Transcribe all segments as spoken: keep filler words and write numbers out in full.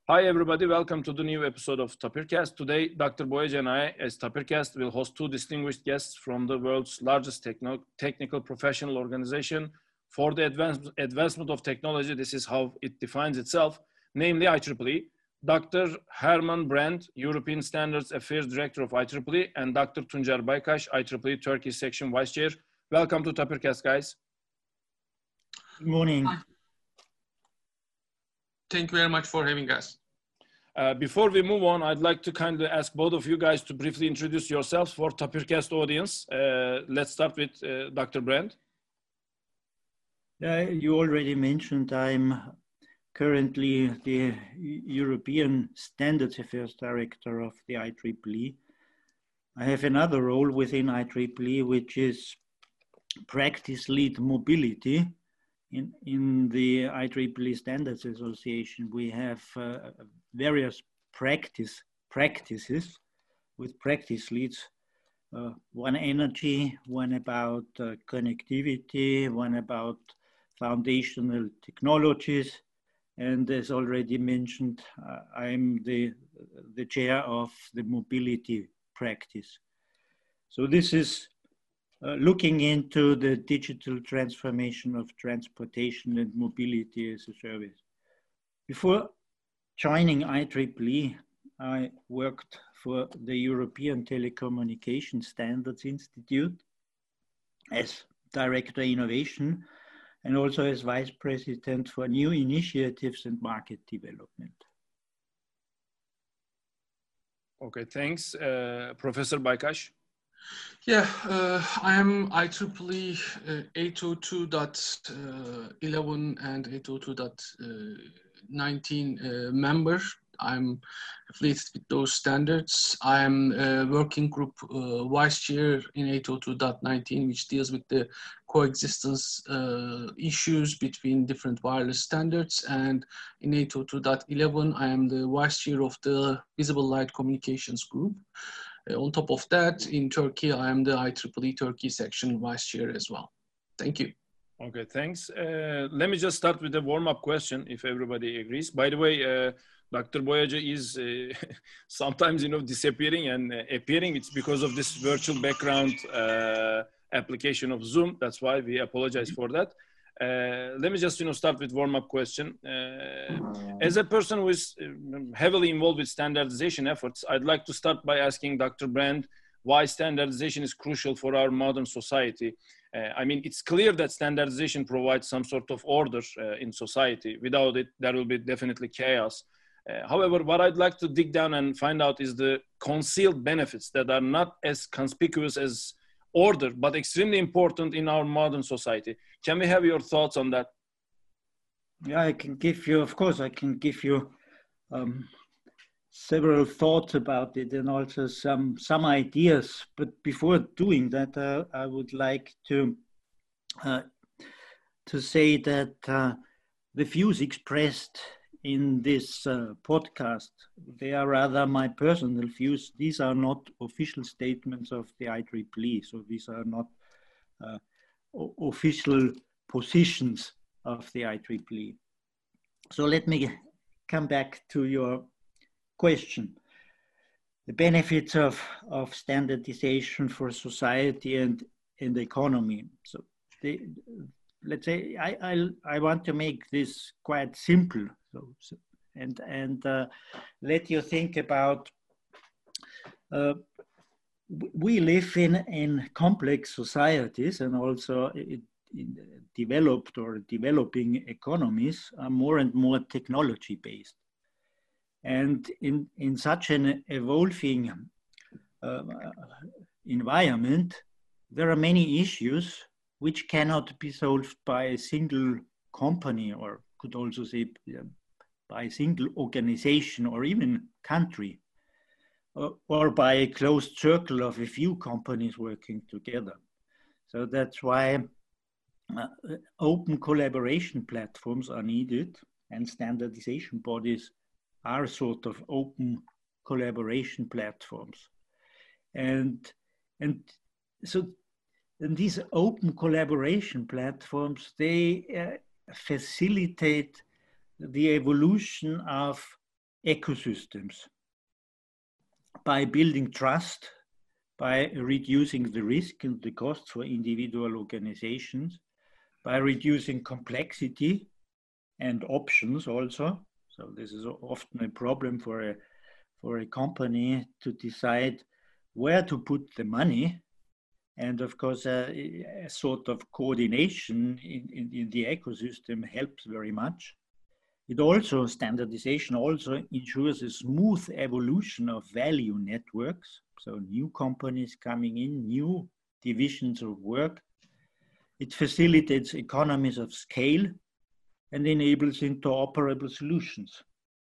Hi everybody, welcome to the new episode of Tapircast. Today, Doctor Boyacı and I, as Tapircast, will host two distinguished guests from the world's largest techno technical professional organization for the advance advancement of technology. This is how it defines itself, namely I triple E. Doctor Herman Brand, European Standards Affairs Director of I triple E, and Doctor Tuncer Baykaş, I triple E Turkey Section Vice Chair. Welcome to Tapircast, guys. Good morning. Hi. Thank you very much for having us. Uh, before we move on, I'd like to kindly ask both of you guys to briefly introduce yourselves for Tapircast audience. Uh, let's start with uh, Doctor Brand. Uh, you already mentioned I'm currently the European Standards Affairs Director of the I triple E. I have another role within I triple E, which is Practice Lead Mobility. In, in the I triple E Standards Association, we have uh, various practice practices with practice leads. Uh, one energy, one about uh, connectivity, one about foundational technologies. And as already mentioned, uh, I'm the, the chair of the mobility practice. So this is Uh, looking into the digital transformation of transportation and mobility as a service. Before joining I triple E, I worked for the European Telecommunication Standards Institute as Director Innovation and also as Vice President for New Initiatives and Market Development. Okay, thanks. Uh, Professor Baykaş. Yeah, uh, I am I triple E uh, eight oh two dot eleven and eight oh two dot nineteen uh, member. I'm affiliated with those standards. I'm a working group uh, vice chair in eight oh two dot nineteen, which deals with the coexistence uh, issues between different wireless standards. And in eight oh two dot eleven, I am the vice chair of the Visible Light Communications group. Uh, on top of that, in Turkey, I am the I triple E Turkey section vice chair as well. Thank you. Okay, thanks. Uh, let me just start with a warm-up question, if everybody agrees. By the way, uh, Doctor Boyacı is uh, sometimes, you know, disappearing and uh, appearing. It's because of this virtual background uh, application of Zoom. That's why we apologize for that. Uh, let me just, you know, start with warm-up question. Uh, as a person who is heavily involved with standardization efforts, I'd like to start by asking Doctor Brand why standardization is crucial for our modern society. Uh, I mean, it's clear that standardization provides some sort of order uh, in society. Without it, there will be definitely chaos. Uh, however, what I'd like to dig down and find out is the concealed benefits that are not as conspicuous as order, but extremely important in our modern society. Can we have your thoughts on that? Yeah, I can give you, of course, I can give you um, several thoughts about it and also some, some ideas. But before doing that, uh, I would like to, uh, to say that uh, the views expressed in this uh, podcast, they are rather my personal views. These are not official statements of the I triple E, so these are not uh, official positions of the I triple E. So let me come back to your question. The benefits of, of standardization for society and, and economy. So they, let's say I, I, I want to make this quite simple. So, so, and and uh, let you think about, uh, we live in, in complex societies and also in, in developed or developing economies are more and more technology based. And in, in such an evolving uh, environment, there are many issues which cannot be solved by a single company, or could also say uh, by a single organization or even country, or, or by a closed circle of a few companies working together. So that's why uh, open collaboration platforms are needed, and standardization bodies are sort of open collaboration platforms. And, and so and these open collaboration platforms, they uh, facilitate the evolution of ecosystems by building trust, by reducing the risk and the costs for individual organizations, by reducing complexity and options also. So this is often a problem for a, for a company to decide where to put the money. And of course, uh, a sort of coordination in, in, in the ecosystem helps very much. It also, standardization also ensures a smooth evolution of value networks. So new companies coming in, new divisions of work. It facilitates economies of scale and enables interoperable solutions.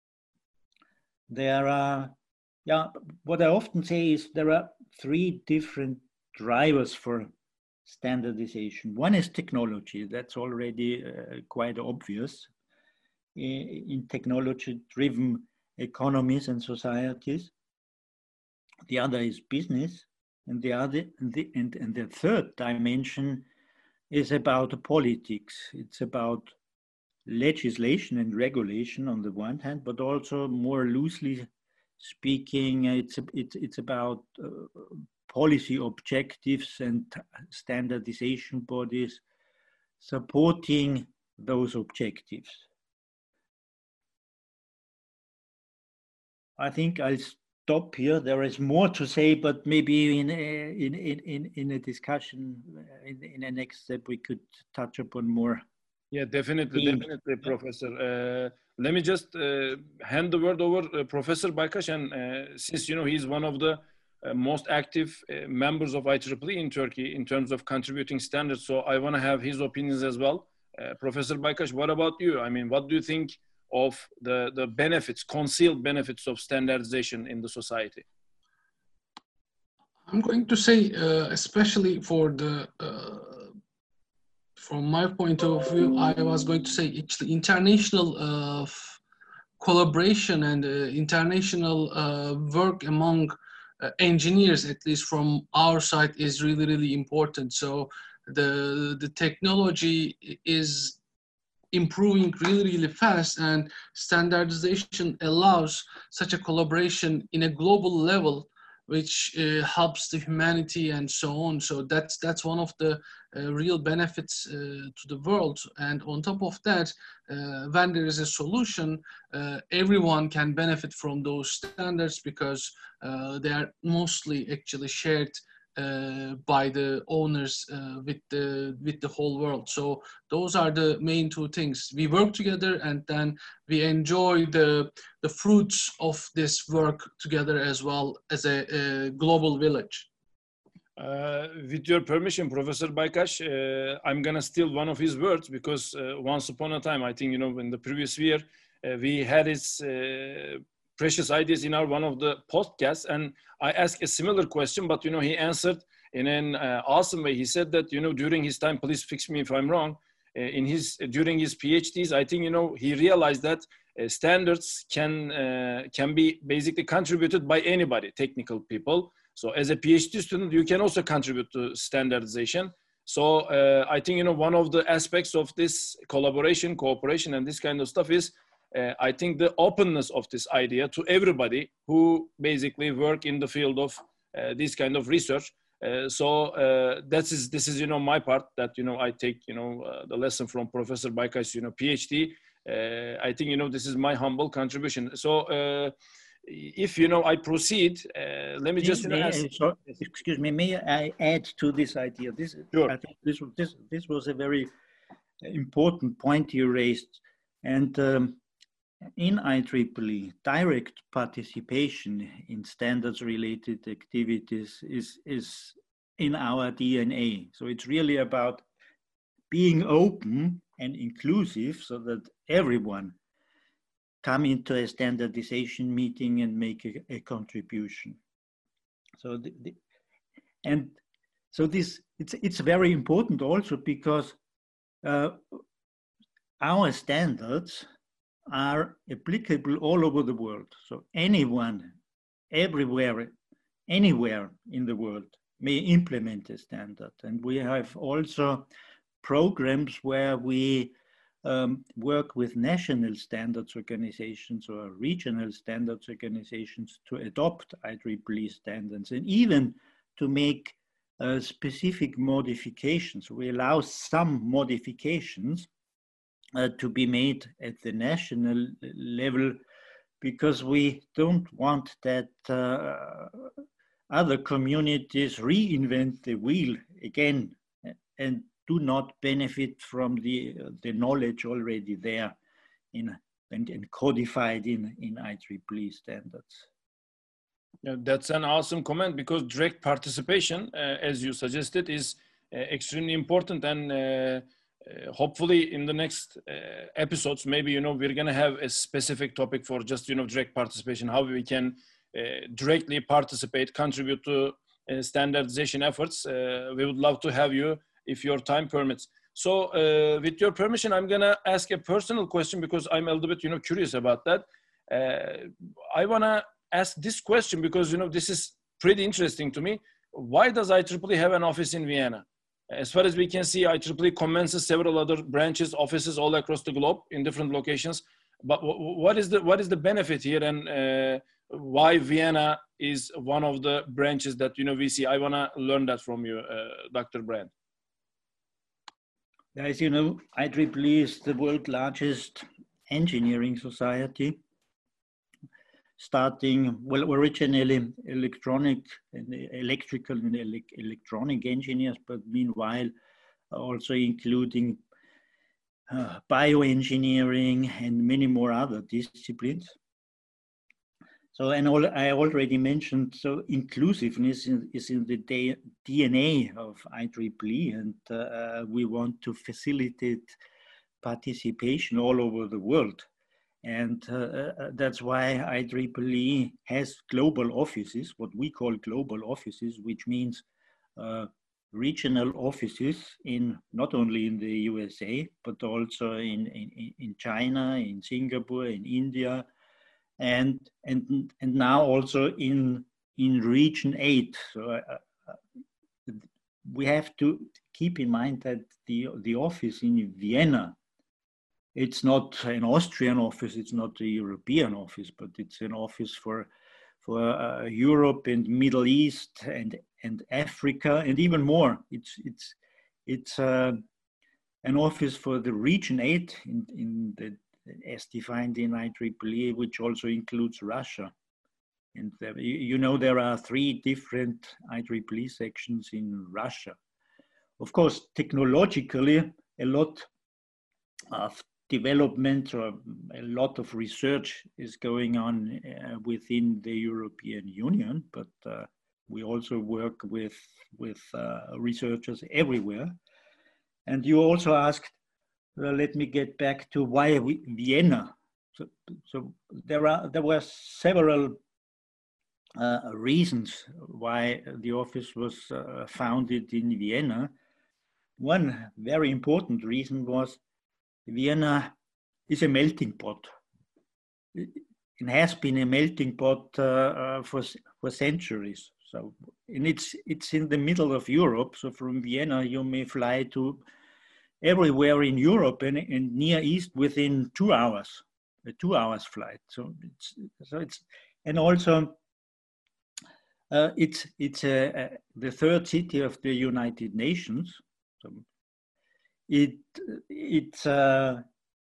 There are, yeah, what I often say is there are three different drivers for standardization. One is technology. That's already uh, quite obvious. In technology-driven economies and societies. The other is business, and the other, and the, and, and the third dimension is about politics. It's about legislation and regulation on the one hand, but also more loosely speaking, it's it's it's about uh, policy objectives and standardization bodies supporting those objectives. I think I'll stop here. There is more to say, but maybe in a, in, in, in a discussion in, in the next step, we could touch upon more. Yeah, definitely, themes. definitely, Professor. Uh, let me just uh, hand the word over uh, Professor Baykaş, and uh, since, you know, he's one of the uh, most active uh, members of I triple E in Turkey in terms of contributing standards, so I want to have his opinions as well. Uh, Professor Baykaş, what about you? I mean, what do you think of the, the benefits, concealed benefits of standardization in the society? I'm going to say, uh, especially for the, uh, from my point of view, I was going to say actually international uh, collaboration and uh, international uh, work among uh, engineers, at least from our side, is really, really important. So the, the technology is improving really, really fast, and standardization allows such a collaboration in a global level, which uh, helps the humanity and so on. So that's that's one of the uh, real benefits uh, to the world. And on top of that, uh, when there is a solution, uh, everyone can benefit from those standards because uh, they are mostly actually shared Uh, by the owners uh, with the with the whole world. So those are the main two things. We work together, and then we enjoy the the fruits of this work together as well as a, a global village. Uh, with your permission, Professor Baykaş, uh, I'm gonna steal one of his words, because uh, once upon a time, I think, you know, in the previous year, uh, we had his uh, precious ideas in our one of the podcasts, and I asked a similar question, but, you know, he answered in an uh, awesome way. He said that, you know, during his time, please fix me if I'm wrong, uh, in his during his PhDs, I think, you know, he realized that uh, standards can uh, can be basically contributed by anybody, technical people. So as a PhD student, you can also contribute to standardization. So uh, I think, you know, one of the aspects of this collaboration, cooperation, and this kind of stuff is, uh, I think, the openness of this idea to everybody who basically work in the field of uh, this kind of research. Uh, so uh, that is, this is, you know, my part that, you know, I take, you know, uh, the lesson from Professor Baykaş, you know, PhD. Uh, I think, you know, this is my humble contribution. So, uh, if, you know, I proceed, uh, let me just, you know, may, ask. so, excuse me, may I add to this idea? This, Sure. I think this, this, this was a very important point you raised. And um, in I triple E, direct participation in standards-related activities is, is in our D N A. So it's really about being open and inclusive so that everyone come into a standardization meeting and make a, a contribution. So, the, the, and so this, it's, it's very important also because uh, our standards are applicable all over the world. So anyone, everywhere, anywhere in the world may implement a standard. And we have also programs where we um, work with national standards organizations or regional standards organizations to adopt I triple E standards, and even to make uh, specific modifications. We allow some modifications uh, to be made at the national level, because we don't want that uh, other communities reinvent the wheel again and do not benefit from the, uh, the knowledge already there in, and, and codified in, in I triple E standards. Yeah, that's an awesome comment, because direct participation, uh, as you suggested, is uh, extremely important. And uh, uh, hopefully in the next uh, episodes, maybe, you know, we're going to have a specific topic for just, you know, direct participation, how we can uh, directly participate, contribute to uh, standardization efforts. Uh, we would love to have you if your time permits. So uh, with your permission, I'm going to ask a personal question, because I'm a little bit, you know, curious about that. Uh, I want to ask this question because, you know, this is pretty interesting to me. Why does I triple E have an office in Vienna? As far as we can see, I triple E commences several other branches, offices all across the globe in different locations. But what is the, what is the benefit here, and uh, why Vienna is one of the branches that, you know, we see? I want to learn that from you, uh, Doctor Brand. As you know, I triple E is the world's largest engineering society, starting, well, originally electronic and electrical and ele electronic engineers, but meanwhile also including uh, bioengineering and many more other disciplines. So, and all, I already mentioned, so inclusiveness in, is in the D N A of I triple E, and uh, we want to facilitate participation all over the world. And uh, that's why I triple E has global offices, what we call global offices, which means uh, regional offices in not only in the U S A, but also in, in, in China, in Singapore, in India, and and and now also in in region eight. So uh, we have to keep in mind that the the office in Vienna, it's not an Austrian office, it's not a European office, but it's an office for for uh, Europe and Middle East and and Africa and even more. It's it's it's uh, an office for the region eight in in the, as defined in I triple E, which also includes Russia. And there, you know, there are three different I triple E sections in Russia. Of course, technologically, a lot of development or a lot of research is going on uh, within the European Union, but uh, we also work with, with uh, researchers everywhere. And you also asked, well, let me get back to why we, Vienna. So, so there are there were several uh, reasons why the office was uh, founded in Vienna. One very important reason was Vienna is a melting pot. It has been a melting pot uh, uh, for for centuries. So, and it's it's in the middle of Europe. So from Vienna you may fly to everywhere in Europe and, and Near East within two hours, a two hours flight. So it's, so it's, and also uh, it's, it's a, a, the third city of the United Nations. So it, it's, uh,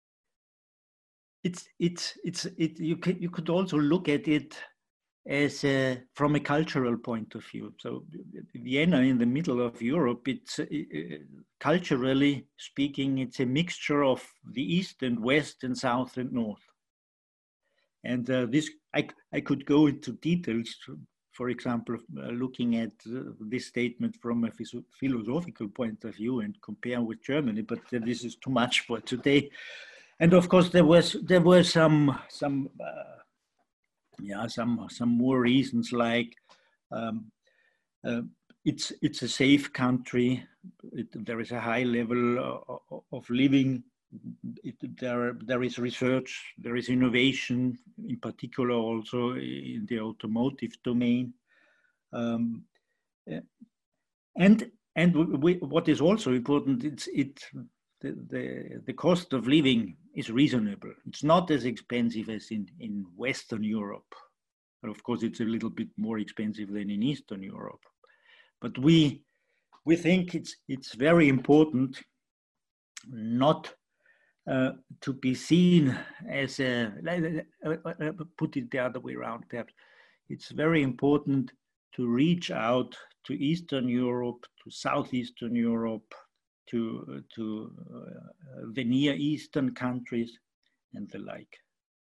it's, it's, it's, it, you could, you could also look at it as a, from a cultural point of view. So Vienna in the middle of Europe, it's uh, culturally speaking, it's a mixture of the East and West and South and North. And uh, this, I, I could go into details, to, for example, uh, looking at uh, this statement from a philosophical point of view and compare with Germany, but uh, this is too much for today. And of course, there was, there were some, some uh, Yeah, some some more reasons, like um, uh, it's it's a safe country. It, there is a high level of, of living. It, there there is research. There is innovation, in particular also in the automotive domain. Um, and and we, what is also important, it's it the, the, the cost of living is reasonable. It's not as expensive as in, in Western Europe. But of course, it's a little bit more expensive than in Eastern Europe. But we, we think it's, it's very important not uh, to be seen as a, put it the other way around perhaps. It's very important to reach out to Eastern Europe, to Southeastern Europe, to, to uh, the Near Eastern countries and the like.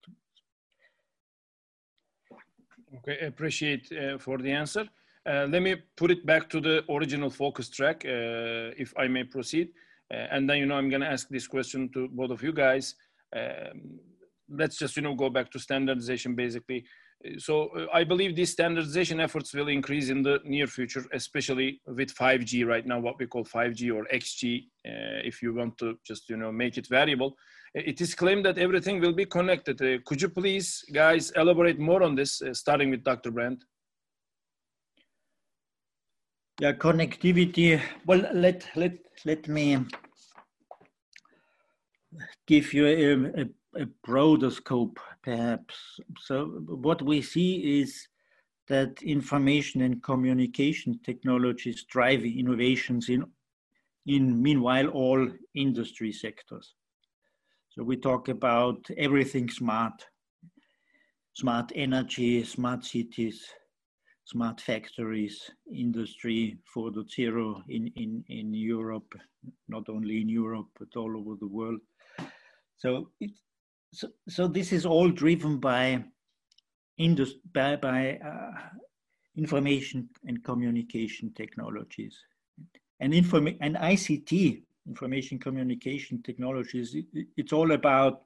Okay, appreciate uh, for the answer. Uh, let me put it back to the original focus track, uh, if I may proceed. Uh, and then, you know, I'm going to ask this question to both of you guys. Um, let's just, you know, go back to standardization basically. So uh, I believe these standardization efforts will increase in the near future, especially with five G right now, what we call five G or X G, uh, if you want to just, you know, make it variable. It is claimed that everything will be connected. Uh, could you please, guys, elaborate more on this, uh, starting with Doctor Brandt? Yeah, connectivity. Well, let let let me give you a, a, a broader scope, perhaps. So what we see is that information and communication technologies drive innovations in, in meanwhile, all industry sectors. So we talk about everything smart, smart energy, smart cities, smart factories, industry four point oh in, in, in Europe, not only in Europe, but all over the world. So, it, so, so this is all driven by, industry, by, by uh, information and communication technologies. And, inform and I C T, information communication technologies, it, it's all about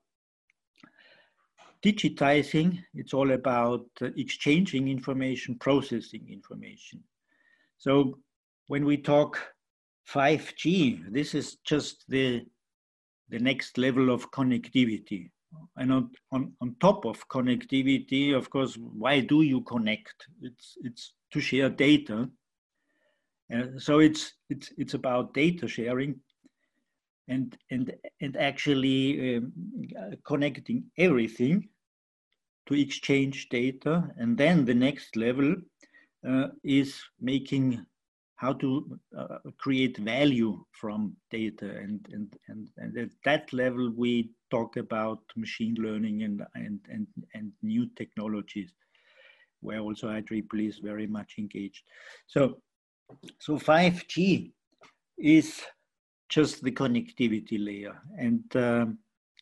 digitizing, it's all about uh, exchanging information, processing information. So when we talk five G, this is just the, the next level of connectivity. And on, on, on top of connectivity, of course, why do you connect? It's, it's to share data. Uh, so it's, it's, it's about data sharing and, and, and actually um, connecting everything to exchange data. And then the next level uh, is making how to uh, create value from data. And, and, and, and at that level, we talk about machine learning and, and, and, and new technologies, where also I triple E is very much engaged. So, so five G is just the connectivity layer. And um,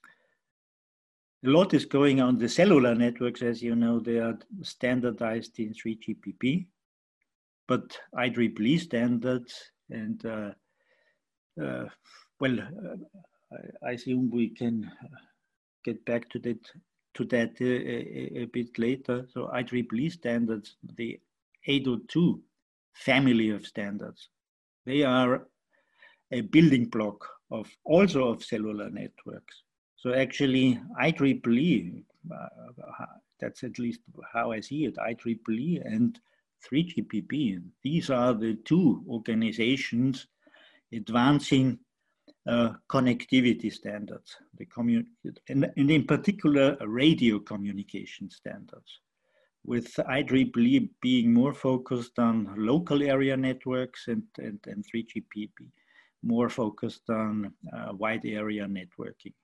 a lot is going on. The cellular networks, as you know, they are standardized in three G P P, but I triple E standards and, uh, uh, well, uh, I, I assume we can get back to that, to that uh, a, a bit later. So I triple E standards, the eight oh two family of standards, they are a building block of also of cellular networks. So actually I triple E, uh, that's at least how I see it, I triple E and three G P P, these are the two organizations advancing uh, connectivity standards, the commun and, and in particular radio communication standards, with I triple E being more focused on local area networks and, and, and three G P P more focused on uh, wide area networking.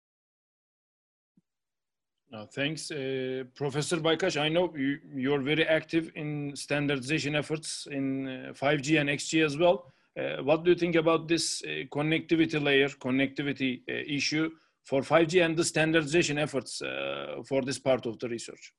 Uh, thanks, uh, Professor Baykash. I know you, you're very active in standardization efforts in uh, five G and X G as well. Uh, what do you think about this uh, connectivity layer, connectivity uh, issue for five G and the standardization efforts uh, for this part of the research?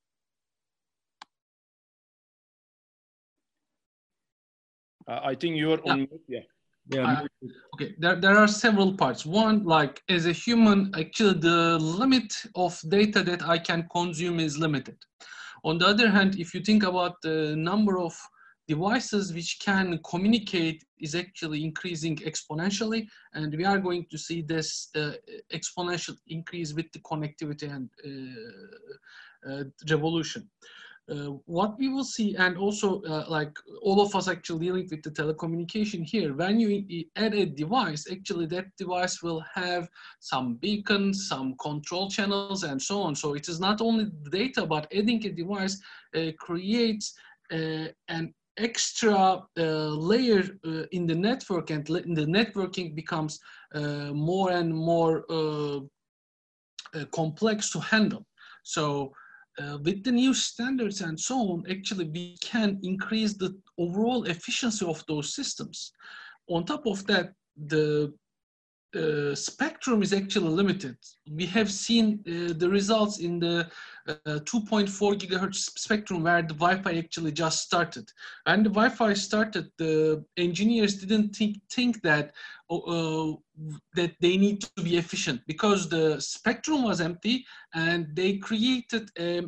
Uh, I think you're yeah. on mute, yeah. Yeah. Uh, okay, there, there are several parts. One, like as a human, actually the limit of data that I can consume is limited. On the other hand, if you think about the number of devices which can communicate is actually increasing exponentially, and we are going to see this uh, exponential increase with the connectivity and uh, uh, revolution. uh, what we will see, and also uh, like all of us actually dealing with the telecommunication here, when you add a device, actually that device will have some beacons, some control channels, and so on. So it is not only the data, but adding a device uh, creates uh, an extra uh, layer uh, in the network, and the networking becomes uh, more and more uh, uh, complex to handle. So uh, with the new standards and so on, actually we can increase the overall efficiency of those systems. On top of that, the uh, spectrum is actually limited. We have seen uh, the results in the uh, two point four gigahertz spectrum where the Wi-Fi actually just started. And the Wi-Fi started, the engineers didn't think, think that, uh, that they need to be efficient because the spectrum was empty, and they created a,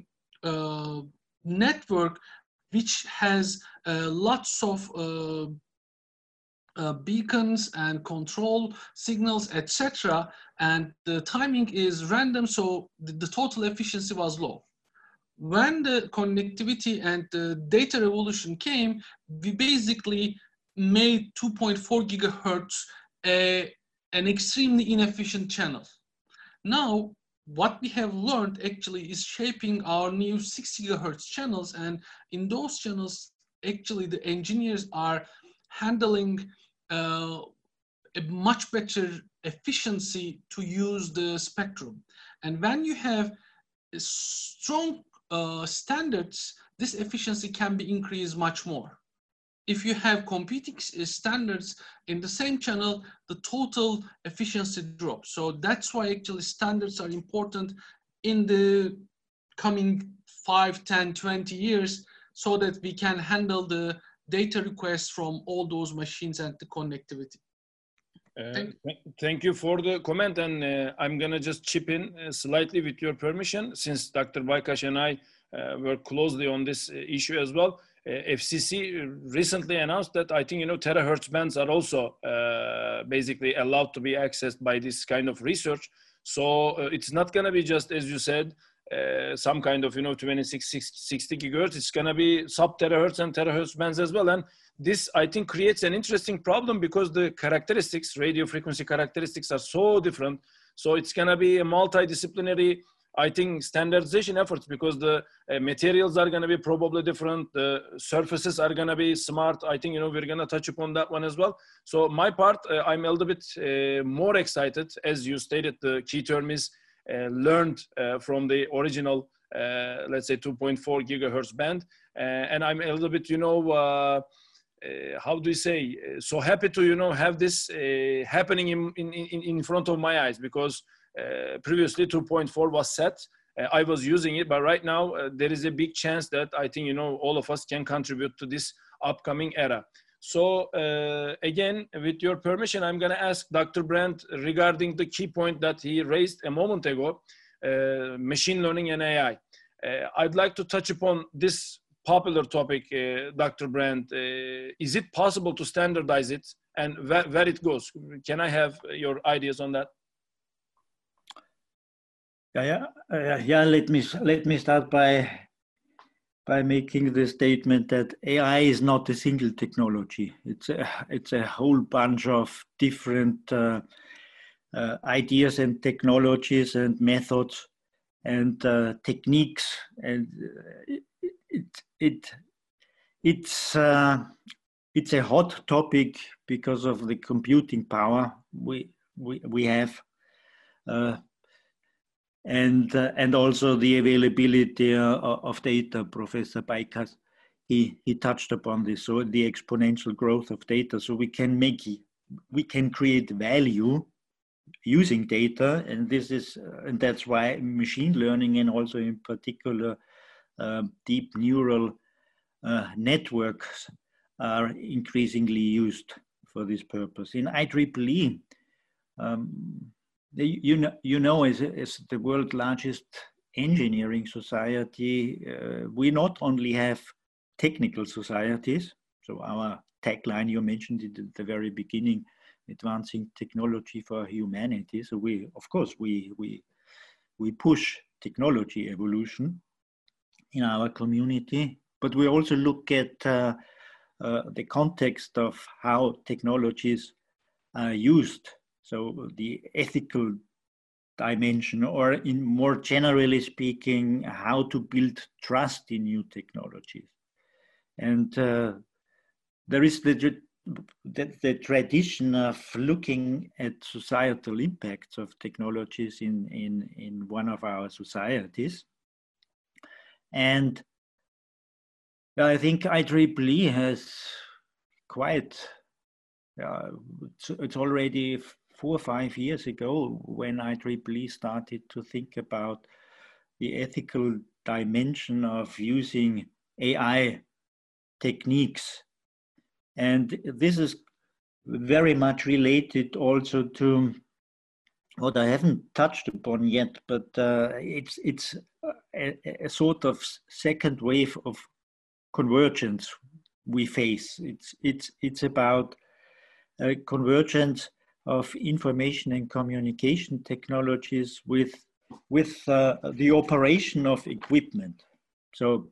a network which has uh, lots of uh, Uh, beacons and control signals, et cetera. And the timing is random, so the, the total efficiency was low. When the connectivity and the data revolution came, we basically made two point four gigahertz a, an extremely inefficient channel. Now, what we have learned actually is shaping our new six gigahertz channels, and in those channels, actually the engineers are handling uh, a much better efficiency to use the spectrum. And when you have strong uh, standards, this efficiency can be increased much more. If you have competing standards in the same channel, the total efficiency drops. So that's why actually standards are important in the coming five, ten, twenty years, so that we can handle the data requests from all those machines and the connectivity. Uh, thank, thank you for the comment, and uh, I'm gonna just chip in uh, slightly with your permission, since Doctor Baykash and I uh, work closely on this uh, issue as well. Uh, F C C recently announced that I think you know terahertz bands are also uh, basically allowed to be accessed by this kind of research. So uh, it's not gonna be just as you said, uh, some kind of you know twenty-six, sixty gigahertz. It's gonna be sub terahertz and terahertz bands as well, and this, I think, creates an interesting problem because the characteristics, radio frequency characteristics, are so different. So it's going to be a multidisciplinary, I think, standardization efforts, because the uh, materials are going to be probably different. The surfaces are going to be smart. I think, you know, we're going to touch upon that one as well. So my part, uh, I'm a little bit uh, more excited. As you stated, the key term is uh, learned uh, from the original, uh, let's say, two point four gigahertz band. Uh, and I'm a little bit, you know, uh, Uh, how do you say, uh, so happy to, you know, have this uh, happening in, in, in front of my eyes, because uh, previously two point four was set. Uh, I was using it, but right now uh, there is a big chance that I think, you know, all of us can contribute to this upcoming era. So uh, again, with your permission, I'm going to ask Doctor Brandt regarding the key point that he raised a moment ago, uh, machine learning and A I. Uh, I'd like to touch upon this popular topic, uh, Doctor Brandt. Uh, is it possible to standardize it, and where, where it goes? Can I have your ideas on that? Yeah, yeah, uh, yeah. Let me let me start by by making the statement that A I is not a single technology. It's a it's a whole bunch of different uh, uh, ideas and technologies and methods and uh, techniques, and uh, it it it's uh, it's a hot topic because of the computing power we we we have, uh, and uh, and also the availability uh, of data. Professor Baykash, he he touched upon this. So the exponential growth of data. So we can make we can create value using data, and this is uh, and that's why machine learning, and also in particular uh, deep neural uh, networks, are increasingly used for this purpose. In I triple E, um, you know, you know, as, as the world's largest engineering society, uh, we not only have technical societies. So our tagline, you mentioned it at the very beginning, advancing technology for humanity. So we, of course, we we we push technology evolution, in our community, but we also look at uh, uh, the context of how technologies are used. So the ethical dimension, or in more generally speaking, how to build trust in new technologies. And uh, there is the, the, the tradition of looking at societal impacts of technologies in, in, in one of our societies. And I think I triple E has quite, uh, it's, it's already four or five years ago when I triple E started to think about the ethical dimension of using A I techniques. And this is very much related also to what I haven't touched upon yet, but uh, it's, it's a, a sort of second wave of convergence we face. It's, it's, it's about a convergence of information and communication technologies with, with uh, the operation of equipment. So,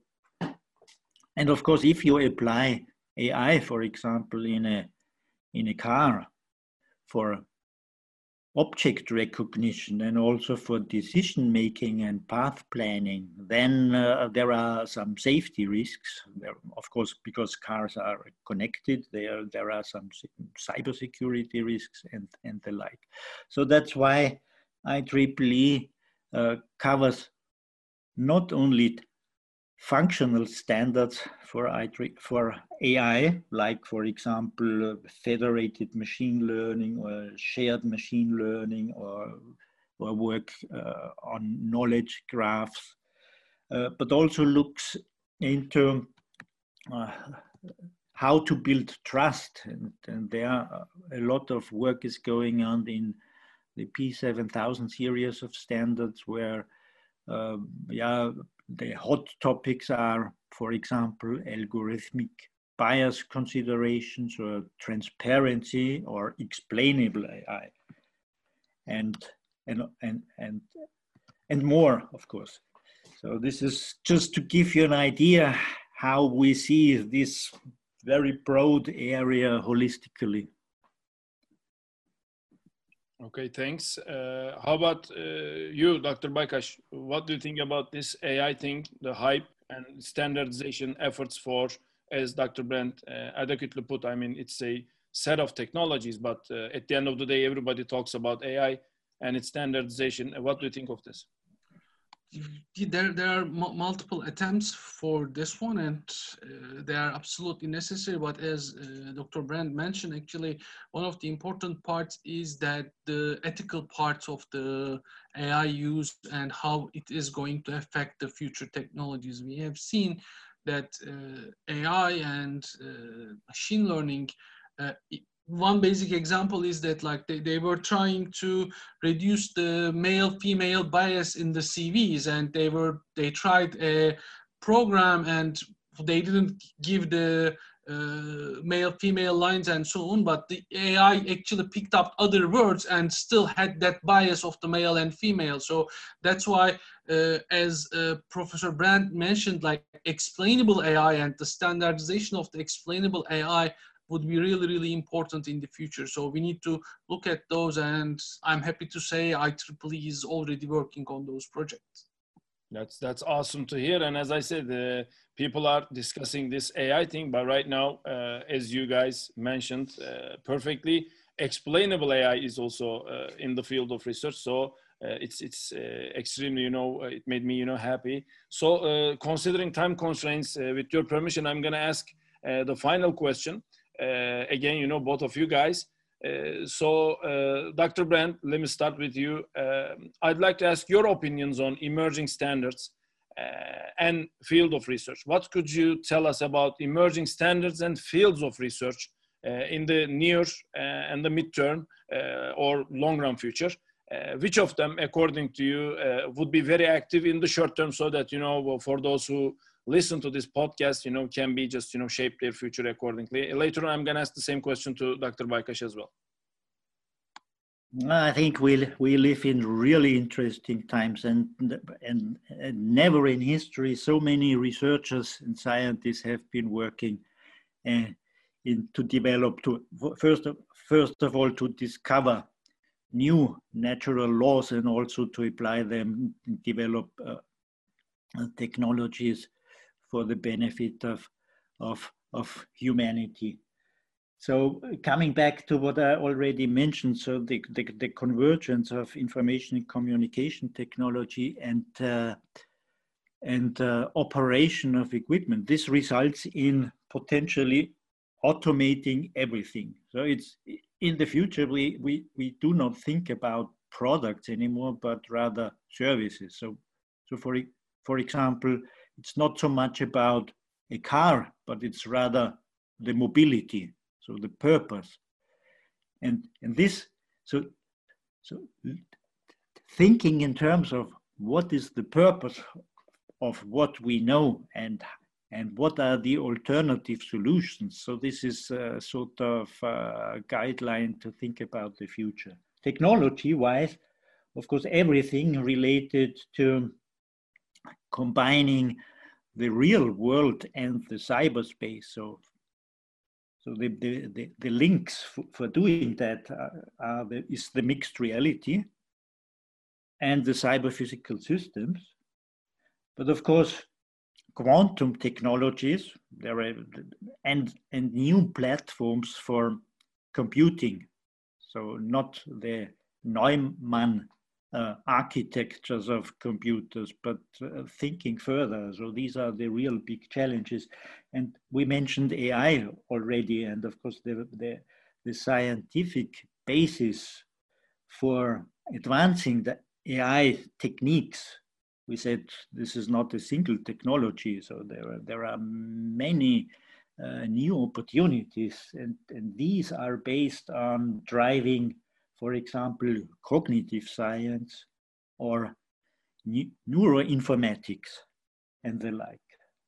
and of course, if you apply A I, for example, in a, in a car for object recognition and also for decision making and path planning, then uh, there are some safety risks. There, of course, because cars are connected, there, there are some cybersecurity risks and, and the like. So that's why I triple E uh, covers not only functional standards for, I, for A I, like, for example, uh, federated machine learning or shared machine learning, or, or work uh, on knowledge graphs, uh, but also looks into uh, how to build trust. And, and there are a lot of work is going on in the P seven thousand series of standards where, uh, yeah, the hot topics are, for example, algorithmic bias considerations or transparency or explainable A I, and and and and and more, of course. So this is just to give you an idea how we see this very broad area holistically. Okay, thanks. Uh, how about uh, you, Doctor Baykash? What do you think about this A I thing, the hype and standardization efforts for, as Doctor Brandt uh, adequately put, I mean, it's a set of technologies, but uh, at the end of the day, everybody talks about A I and its standardization. What do you think of this? There, there are multiple attempts for this one, and uh, they are absolutely necessary. But as uh, Doctor Brandt mentioned, actually, one of the important parts is that the ethical parts of the A I use and how it is going to affect the future technologies. We have seen that uh, A I and uh, machine learning, uh, it, one basic example is that, like, they, they were trying to reduce the male-female bias in the C Vs, and they were they tried a program and they didn't give the uh, male-female lines and so on, but the A I actually picked up other words and still had that bias of the male and female. So that's why, uh, as uh, Professor Brandt mentioned, like, explainable A I and the standardization of the explainable A I would be really, really important in the future. So we need to look at those, and I'm happy to say I triple E is already working on those projects. That's, that's awesome to hear. And as I said, uh, people are discussing this A I thing, but right now, uh, as you guys mentioned uh, perfectly, explainable A I is also uh, in the field of research. So uh, it's, it's uh, extremely, you know, it made me, you know, happy. So uh, considering time constraints, uh, with your permission, I'm gonna ask uh, the final question. Uh, again, you know, both of you guys. Uh, so, uh, Doctor Brandt, let me start with you. Uh, I'd like to ask your opinions on emerging standards uh, and field of research. What could you tell us about emerging standards and fields of research uh, in the near uh, and the midterm uh, or long-run future? Uh, which of them, according to you, uh, would be very active in the short term, so that, you know, for those who listen to this podcast, you know, can be just, you know, shape their future accordingly. Later on, I'm going to ask the same question to Doctor Baykash as well. I think we we live in really interesting times, and, and and never in history so many researchers and scientists have been working uh, in to develop to first of, first of all to discover new natural laws and also to apply them and develop uh, technologies for the benefit of of of humanity. So coming back to what I already mentioned, so the, the, the convergence of information and communication technology and, uh, and uh, operation of equipment, this results in potentially automating everything. So it's in the future, we, we, we do not think about products anymore, but rather services. So, so for, for example, it's not so much about a car, but it's rather the mobility. So the purpose, and and this, so so thinking in terms of what is the purpose of what we know and and what are the alternative solutions. So this is a sort of a guideline to think about the future. Technology-wise, of course, everything related to combining the real world and the cyberspace. So. So the, the, the, the links for, for doing that are, are the, is the mixed reality and the cyber physical systems. But of course, quantum technologies there are, and, and new platforms for computing. So not the Neumann uh, architectures of computers, but uh, thinking further. So these are the real big challenges. And we mentioned A I already, and of course the, the, the scientific basis for advancing the A I techniques. We said this is not a single technology, so there are, there are many uh, new opportunities, and, and these are based on driving, for example, cognitive science or neuroinformatics and the like.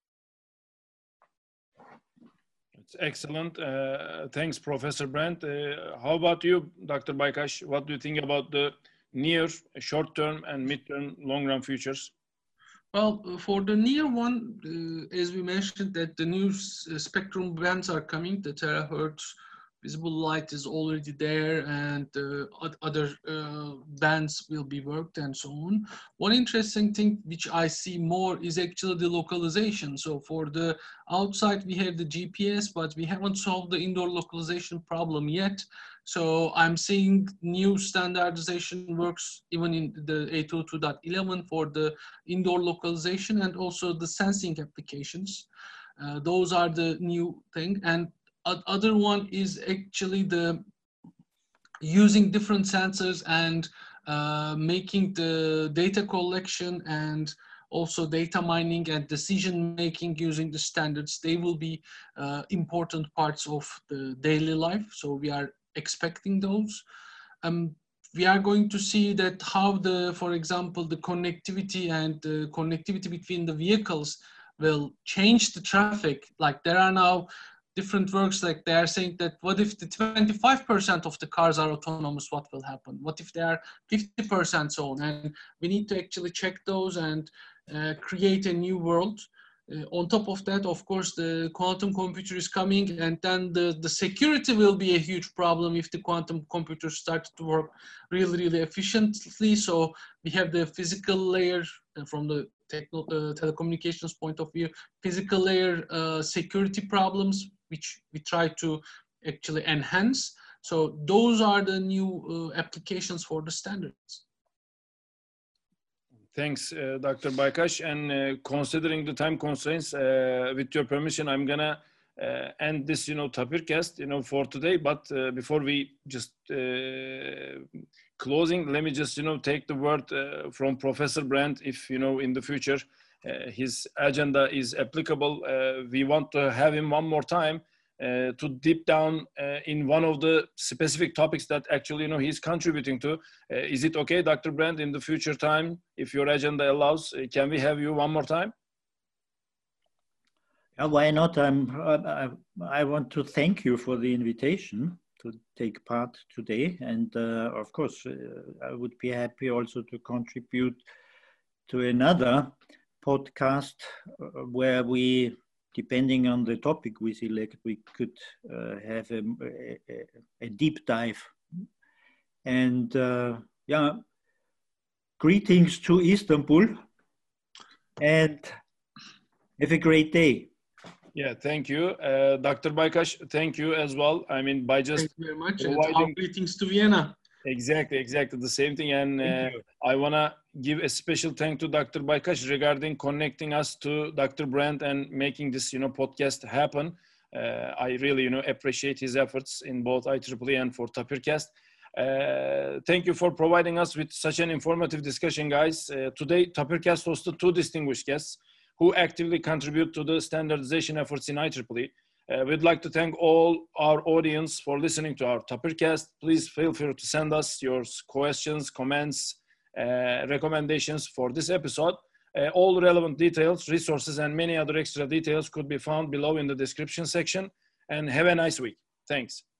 It's excellent. Uh, thanks, Professor Brandt. Uh, how about you, Doctor Baykash? What do you think about the near, short-term, and mid-term, long-run futures? Well, for the near one, uh, as we mentioned, that the new spectrum bands are coming, the terahertz visible light is already there, and uh, other uh, bands will be worked and so on. One interesting thing which I see more is actually the localization. So for the outside, we have the G P S, but we haven't solved the indoor localization problem yet. So I'm seeing new standardization works even in the eight oh two dot eleven for the indoor localization and also the sensing applications. Uh, those are the new thing. And other one is actually the using different sensors and uh, making the data collection and also data mining and decision making using the standards. They will be uh, important parts of the daily life. So we are expecting those. Um, we are going to see that how the, for example, the connectivity and the connectivity between the vehicles will change the traffic. Like there are now different works, like they are saying that what if the twenty-five percent of the cars are autonomous, what will happen? What if they are fifty percent so on? And we need to actually check those and uh, create a new world. Uh, on top of that, of course, the quantum computer is coming, and then the, the security will be a huge problem if the quantum computer starts to work really, really efficiently. So we have the physical layer uh, from the techno, uh, telecommunications point of view, physical layer uh, security problems, which we try to actually enhance. So those are the new uh, applications for the standards. Thanks, uh, Doctor Baykash. And uh, considering the time constraints, uh, with your permission, I'm gonna uh, end this, you know, Tapircast, you know, for today. But uh, before we just uh, closing, let me just, you know, take the word uh, from Professor Brandt. If, you know, in the future, uh, his agenda is applicable, uh, we want to have him one more time Uh, to deep down uh, in one of the specific topics that actually, you know, he's contributing to. Uh, is it okay, Doctor Brandt, in the future time, if your agenda allows, uh, can we have you one more time? Yeah, why not? I'm, I, I want to thank you for the invitation to take part today. And uh, of course, uh, I would be happy also to contribute to another podcast uh, where we, depending on the topic we select, we could uh, have a, a, a deep dive. And uh, yeah, greetings to Istanbul and have a great day. Yeah, thank you. Uh, Doctor Baykash, thank you as well. I mean, by just Thank you very much. providing... And our greetings to Vienna. Exactly, exactly the same thing. And uh, I want to give a special thank to Doctor Baykash regarding connecting us to Doctor Brandt and making this, you know, podcast happen. Uh, I really, you know, appreciate his efforts in both I triple E and for Tapircast. Uh, thank you for providing us with such an informative discussion, guys. Uh, today, Tapircast hosted two distinguished guests who actively contribute to the standardization efforts in I triple E. Uh, we'd like to thank all our audience for listening to our Tapircast. Please feel free to send us your questions, comments, uh, recommendations for this episode. Uh, all relevant details, resources, and many other extra details could be found below in the description section. And have a nice week. Thanks.